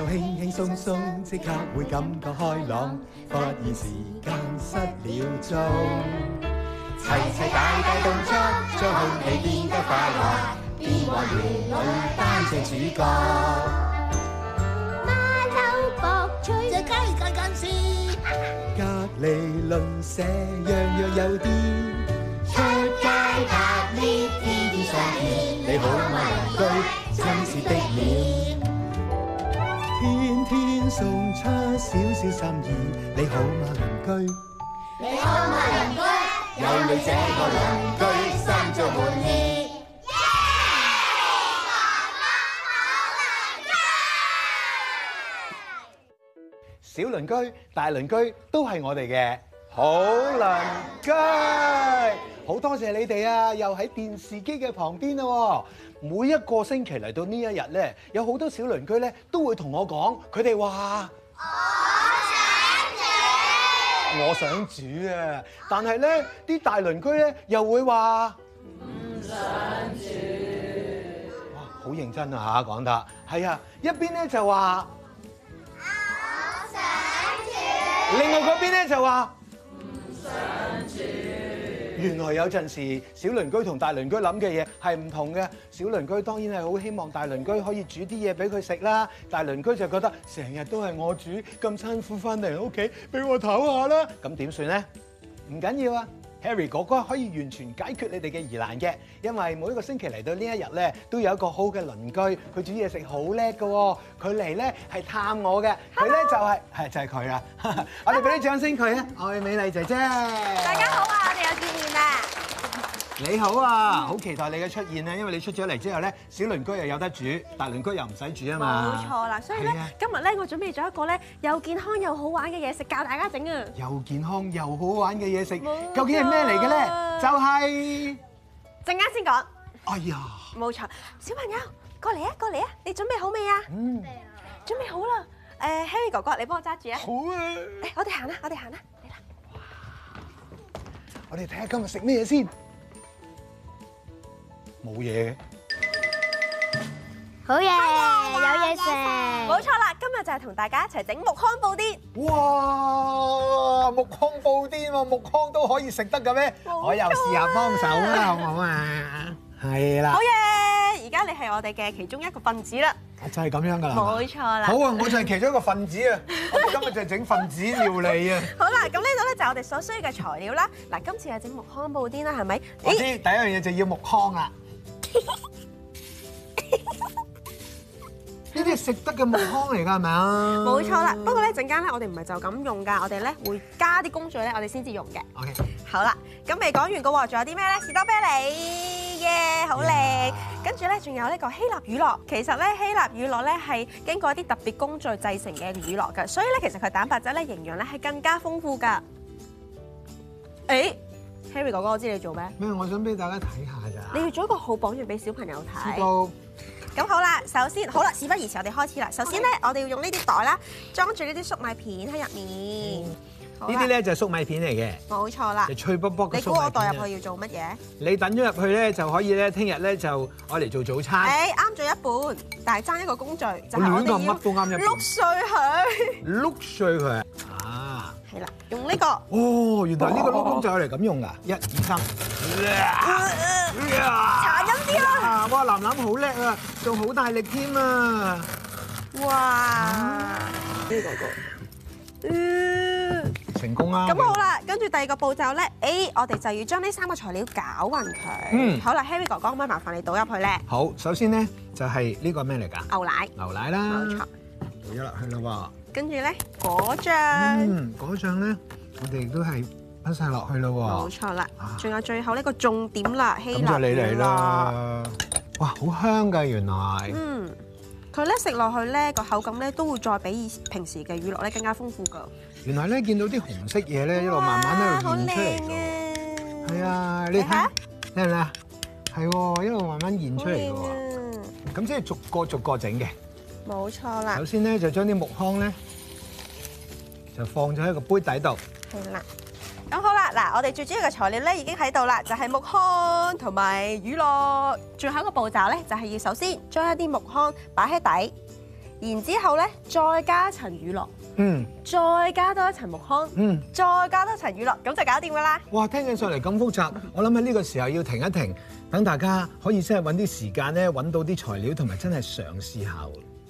又輕輕鬆鬆，即刻會感覺開朗，發現時間失了蹤。齊齊大大動作，將空氣變得快樂，變幻園裏擔正主角。 馬騮博取隻雞近近視， 隔離鄰舍樣樣有啲， 出街搭 lift 天天相見。 你好嗎鄰居，親切的臉，天天送出少少心意。你好嗎鄰居， 你好嗎鄰居， 有你這個鄰居，心中滿意。小鄰居、大鄰居都係我哋嘅好鄰居，好多謝你哋啊！又喺電視機嘅旁邊啦。每一個星期嚟到呢一日咧，有好多小鄰居咧都會同我講，佢哋話我想煮啊！但係咧啲大鄰居咧又會話唔想煮。哇，好認真啊嚇，講得係啊！一邊咧就話另外嗰邊咧就話唔想煮。原來有陣時小鄰居同大鄰居諗嘅嘢係唔同嘅。小鄰居當然係好希望大鄰居可以煮啲嘢俾佢食啦。大鄰居就覺得成日都係我煮，咁辛苦翻嚟屋企，俾我唞下啦。咁點算咧？唔緊要啊！Harry 哥哥可以完全解決你哋嘅疑難嘅，因為每一個星期嚟到呢一日咧，都有一個好嘅鄰居，佢煮嘢食好叻嘅喎。佢嚟咧係探我嘅，佢咧就係佢啦。我哋俾啲掌聲佢啊！愛美麗姐姐， 大家好啊！我哋又見面啦。 你好啊！好期待你嘅出現啊！因為你出咗嚟之後咧，小鄰居又有得煮，大鄰居又唔使煮啊嘛。 冇錯啦，所以咧今日咧我準備咗一個咧又健康又好玩嘅嘢食，教大家整啊！ 又健康又好玩嘅嘢食，究竟係咩嚟嘅咧？就係陣間先講。 哎呀！ 冇錯，小朋友過嚟啊，過嚟啊！你準備好未啊？準備好啦。Harry 哥哥，你幫我揸住啊！ 好啊！ 我哋行啦，我哋行啦，嚟啦！ 我哋睇下今日食咩嘢先。冇嘢嘅， 好嘢，有嘢食。 冇錯啦，今日就係同大家一齊整木糠布甸。 哇！木糠布甸喎，木糠都可以食得嘅咩？我又試下幫手啦，好唔好啊？係啦。 好嘢！而家你係我哋嘅其中一個分子啦。 就係咁樣㗎啦。 冇錯啦。 好啊，我就係其中一個分子啊！我哋今日就係整分子料理啊。 好啦，咁呢度咧就係我哋所需要嘅材料啦。嗱，今次係整木糠布甸啦，係咪？ 我知第一樣嘢就要木糠啦。呢啲係食得嘅木糠嚟㗎，係咪啊？ 冇錯啦，不過咧陣間咧，我哋唔係就咁用㗎，我哋咧會加啲工序咧，我哋先至用嘅。 OK。 好啦，咁未講完嘅喎，仲有啲咩咧？士多啤梨嘅，好靚。跟住咧，仲有呢個希臘乳酪。其實咧，希臘乳酪咧係經過一啲特別工序製成嘅乳酪㗎，所以咧其實佢蛋白質咧營養咧係更加豐富㗎。誒，Harry 哥哥，我知你做咩？ 咩？我想俾大家睇下咋。 你要做一個好榜樣俾小朋友睇。 知道。 咁好啦，首先好啦，事不宜遲，我哋開始啦。首先咧，我哋要用呢啲袋啦，裝住呢啲粟米片喺入面。 呢啲咧就係粟米片嚟嘅。 冇錯啦。 就脆卜卜嘅你粟米片。 估我袋入去要做乜嘢？ 你等咗入去咧，就可以咧，聽日咧就愛嚟做早餐。 誒，啱咗一半，但係爭一個工序，就係我哋乜都啱一半。 碌碎佢。 碌碎佢啊！ 係啦，用呢個。 哦，原來呢個碌工就係嚟咁用㗎。1、2、3。 殘忍啲啦！ 哇，藍藍好叻啊，仲好大力添啊！ 哇！呢個成功啦！ 咁好啦，跟住第二個步驟咧，我哋就要將呢3個材料攪勻佢。好啦 ，Harry 哥哥，可唔可以麻煩你倒入去咧？ 好，首先咧就係呢個咩嚟㗎？ 牛奶。 牛奶啦。 冇錯。 倒咗落去啦喎。 跟住咧，果醬。 果醬咧，我哋亦都係擺晒落去啦喎。 冇錯啦。仲有最後呢個重點啦，希臘乳酪。 咁就你嚟啦！哇，好香㗎原來。 佢咧食落去咧個口感咧都會再比平時嘅乳酪咧更加豐富㗎。 原來咧見到啲紅色嘢咧一路慢慢喺度現出嚟㗎。係啊，你睇，靚唔靚啊？係喎，一路慢慢現出嚟㗎喎。咁即係逐個逐個整嘅。冇錯啦。首先咧就將啲木糠咧就放咗喺個杯底度。 係啦。咁好啦，嗱，我哋最主要嘅材料咧已經喺度啦，就係木糠同埋乳酪。最後一個步驟咧，就係要首先將一啲木糠擺喺底， 然之後咧再加一層乳酪，再加多一層木糠，再加多一層乳酪，咁就搞掂㗎啦。 哇！聽起上嚟咁複雜，我諗喺呢個時候要停一停，等大家可以真係揾啲時間咧，揾到啲材料同埋真係嘗試下。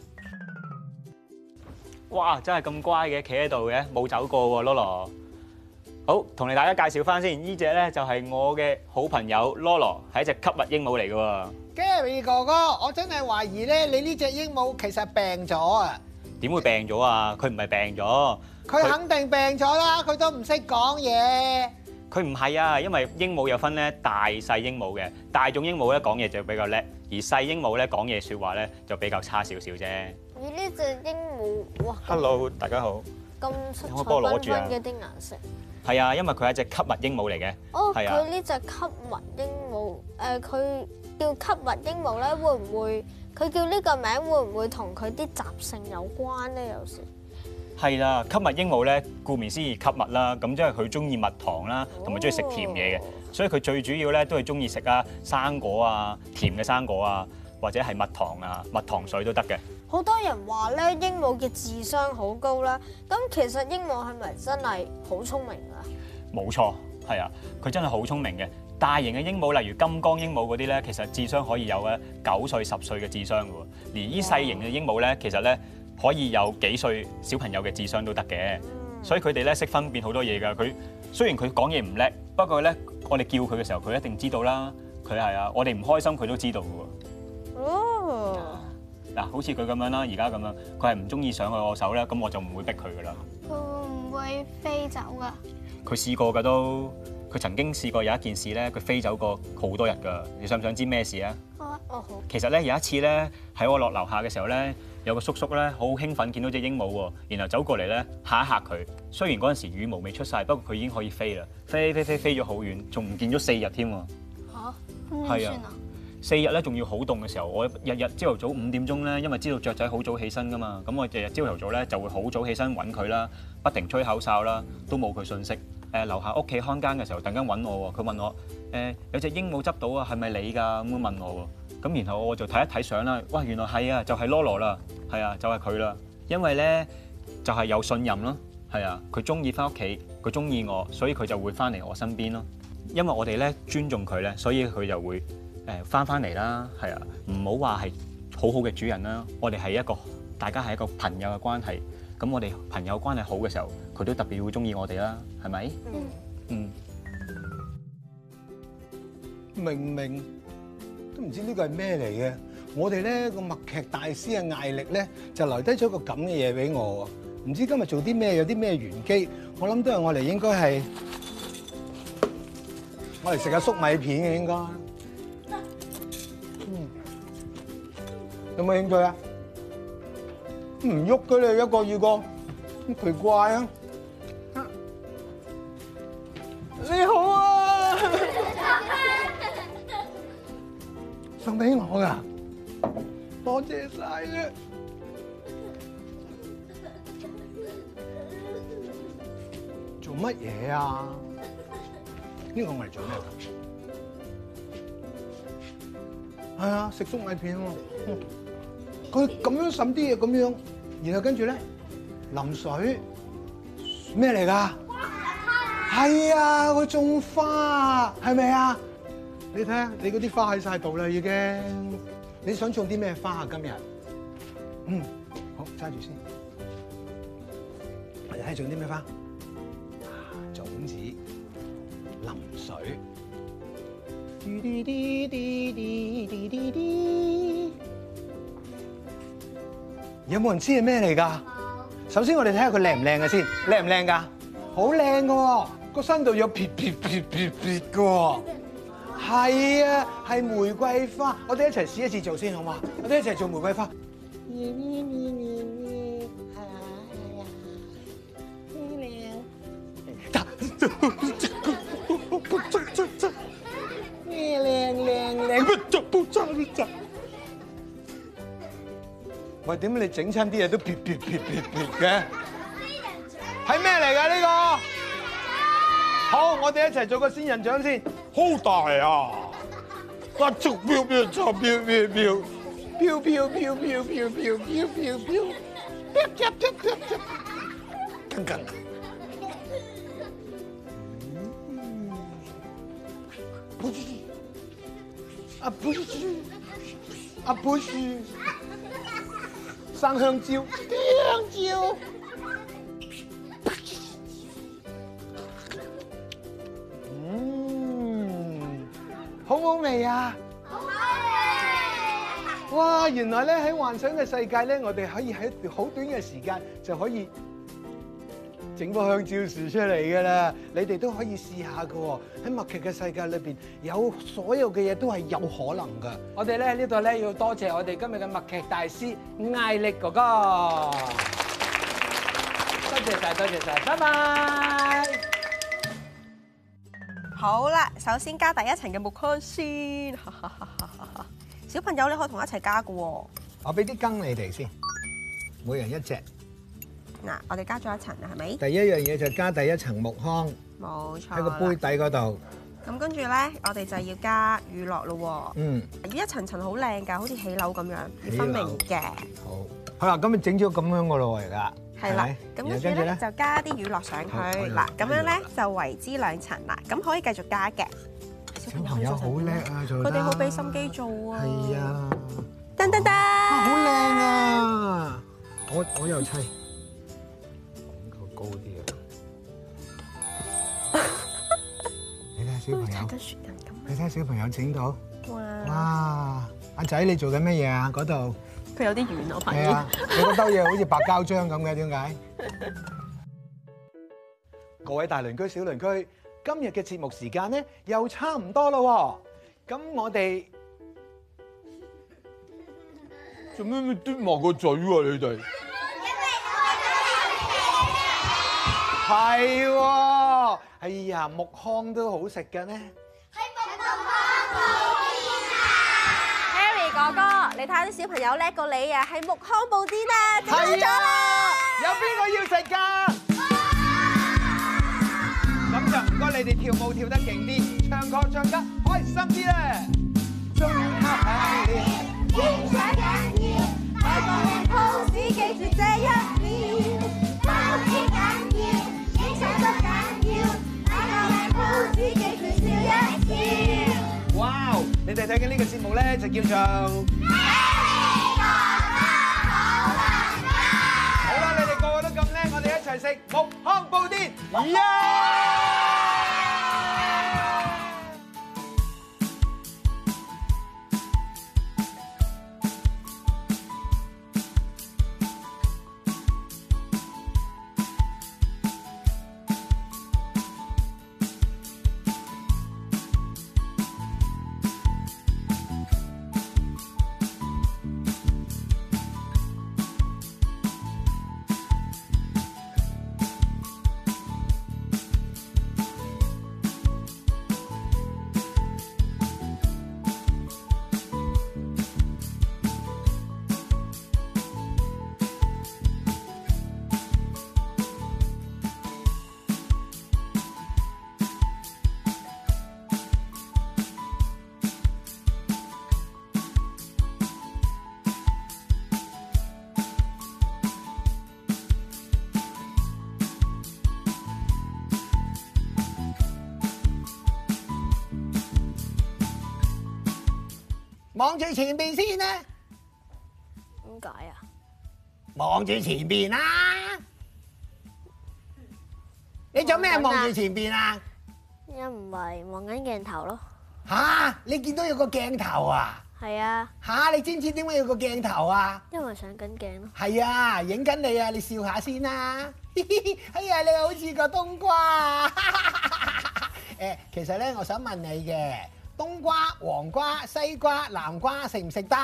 哇！真係咁乖嘅，企喺度嘅，冇走過喎，Lolo。好，同你大家介紹翻先，呢只咧就係我嘅好朋友 Lolo，係一隻吸物鸚鵡嚟嘅喎。 Gary 哥哥，我真係懷疑咧，你呢隻鸚鵡其實病咗啊！ 點會病咗啊？佢唔係病咗， 佢肯定病咗啦，佢都唔識講嘢。 佢唔係啊，因為鸚鵡有分咧大細鸚鵡嘅，大眾鸚鵡咧講嘢就比較叻，而細鸚鵡咧講嘢説話咧就比較差少少啫。 而呢隻鸚鵡，哇 Hello， 大家好。 咁色彩可唔可以幫我攞繽住啊紛嘅啲顏色。 係啊，因為佢係一隻吸物鸚鵡嚟嘅。 哦， 係啊佢呢隻吸物鸚鵡，佢叫吸物鸚鵡咧，會唔會佢叫呢個名會唔會同佢啲習性有關咧？有時係啦，吸物鸚鵡咧，顧名思義吸物啦，咁即係佢中意蜜糖啦，同埋中意食甜嘢嘅，所以佢最主要咧都係中意食啊生果啊，甜嘅生果啊，或者係蜜糖啊、蜜糖水都得嘅。 好多人話咧，鸚鵡嘅智商好高啦。咁其實鸚鵡係咪真係好聰明啊？ 冇錯，係啊，佢真係好聰明嘅。大型嘅鸚鵡，例如金剛鸚鵡嗰啲咧，其實智商可以有咧9歲、10歲嘅智商嘅喎。而呢細型嘅鸚鵡咧，其實咧可以有幾歲小朋友嘅智商都得嘅。所以佢哋咧識分辨好多嘢㗎。佢雖然佢講嘢唔叻，不過咧我哋叫佢嘅時候，佢一定知道啦。佢係啊，我哋唔開心佢都知道嘅喎。 哦。 嗱，好似佢咁樣啦，而家咁樣，佢係唔中意上去我手咧，咁我就唔會逼佢噶啦。 佢會唔會飛走㗎？ 佢試過㗎都，佢曾經試過有一件事咧，佢飛走過好多日㗎。你想唔想知咩事啊？ 哦好。 其實咧有一次咧，喺我落樓下嘅時候咧，有個叔叔咧好興奮見到隻鸚鵡喎，然後走過嚟咧嚇一嚇佢。雖然嗰陣時羽毛未出晒，不過佢已經可以飛啦，飛咗好遠，仲唔見咗4日添喎。 嚇？咁點算啊 ？4日咧，仲要好凍嘅時候，我日日朝頭早5點鐘咧，因為知道雀仔好早起身噶嘛，咁我日日朝頭早咧就會好早起身揾佢啦，不停吹口哨啦，都冇佢訊息。樓下屋企看更嘅時候，突然間揾我喎，佢問我有隻鸚鵡執到啊，係咪你㗎？咁樣問我喎，咁然後我就睇一睇相啦，哇，原來係啊，就係 Lolo 啦，係啊，就係佢啦，因為咧就係有信任咯，係啊，佢中意翻屋企，佢中意我，所以佢就會翻嚟我身邊咯。因為我哋咧尊重佢咧，所以佢就會翻嚟啦，係啊，唔好話係好好嘅主人啦。我哋係大家係一個朋友嘅關係。咁我哋朋友關係好嘅時候，佢都特別會中意我哋啦，係咪？ 明明都唔知呢個係咩嚟嘅。我哋咧個默劇大師嘅艾力咧就留低咗個咁嘅嘢俾我喎。唔知今日做啲咩，有啲咩玄機？我諗都係我哋應該係我哋食下粟米片嘅應該。有冇興趣啊？唔喐嘅你一個二個，咁奇怪啊！你好啊，送俾我噶，多謝晒啊！做乜嘢啊？呢個我嚟做咩㗎？係啊，食粟米片喎。佢咁樣滲啲嘢咁樣，然後跟住咧淋水，咩嚟㗎？係啊，佢種花，係咪啊？你睇下，你嗰啲花喺晒度啦已經。你想種啲咩花啊？今日？好，揸住先。我哋睇下種啲咩花？種子，淋水。有冇人知係咩嚟㗎？首先我哋睇下佢靚唔靚嘅先，靚唔靚㗎？好靚嘅喎，個身度有撇嘅喎。係啊，係玫瑰花。我哋一齊試一次做先好嘛？我哋一齊做玫瑰花。喂，點解你整親啲嘢都撇嘅？係咩嚟㗎呢個？好，我哋一齊做個仙人掌先。好大啊！一足飆， 飄飄飄飄飄飄飄飄飄，更更。不是，生香蕉，香蕉。好唔好味啊？好味！哇，原來咧喺幻想嘅世界咧，我哋可以喺好短嘅時間就可以整棵香蕉樹出嚟㗎啦！你哋都可以試下㗎喎。喺默劇嘅世界裏邊，有所有嘅嘢都係有可能㗎。我哋咧呢度咧要多謝我哋今日嘅默劇大師艾力哥哥，多謝晒，多謝晒，拜拜。 好啦，首先加第一層嘅木糠先。小朋友你可以同我一齊加㗎喎。 我俾啲羹你哋先，每人一隻。 嗱，我哋加咗一層啦，係咪？ 第一樣嘢就加第一層木糠冇錯。 喺個杯底嗰度。 咁跟住咧，我哋就要加乳酪咯喎。 嗯。 要一層層好靚㗎，好似起樓咁樣，要分明嘅。 好。好啦，咁咪整咗咁樣㗎咯喎，而家。 係啦。咁跟住咧就加啲乳酪上去。嗱，咁樣咧就為之兩層啦。咁可以繼續加嘅。 小朋友好叻啊，做得。 佢哋好俾心機做啊。 係啊。 噔噔噔。 好靚啊！我又砌。高啲啊！你睇下小朋友，你睇下小朋友整到，哇！阿仔你做緊乜嘢啊？嗰度佢有啲遠，我發現。 係啊，你嗰兜嘢好似白膠漿咁嘅，點解？各位大鄰居、小鄰居，今日嘅節目時間咧又差唔多啦喎，咁我哋做咩嘟埋個嘴喎？你哋？係喎，哎呀，木糠都好食嘅呢。 係木糠布甸啊 Harry 哥哥，你睇下啲小朋友叻過你啊，係木糠布甸啊，整好咗啦！ 有邊個要食㗎？咁就唔該你哋跳舞跳得勁啲，唱歌唱得開心啲咧。中刻緊要， 影相緊要，擺個靚 pose 記住這一秒，包天緊要，影相都緊要，擺個靚 pose 記住笑一笑。 哇！你哋睇緊呢個節目咧，就叫做好啦，你哋個個都咁叻，我哋一齊食木糠布甸，耶！望住前邊先啦， 點解啊？ 望住前邊啦！你做咩望住前邊啊？ 因唔係望緊鏡頭咯。 吓，你見到有個鏡頭啊？ 係啊， 吓，你知唔知點解有個鏡頭啊？ 因為上緊鏡咯。 係啊，影緊你啊！你笑下先啦。哎呀，你好似個冬瓜。誒，其實咧，我想問你嘅。冬瓜、黃瓜、西瓜、南瓜食唔食得？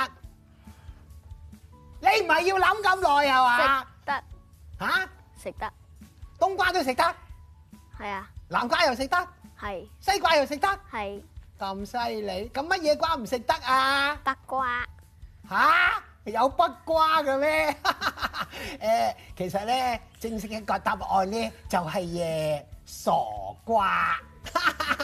你唔係要諗咁耐係嘛？ 食得嚇？ 食得。 冬瓜都食得？ 係啊。 南瓜又食得？ 係。 西瓜又食得？ 係。 咁犀利，咁乜嘢瓜唔食得啊？ 北瓜。 嚇？有北瓜嘅咩？誒，其實咧，正式一個答案咧就係傻瓜。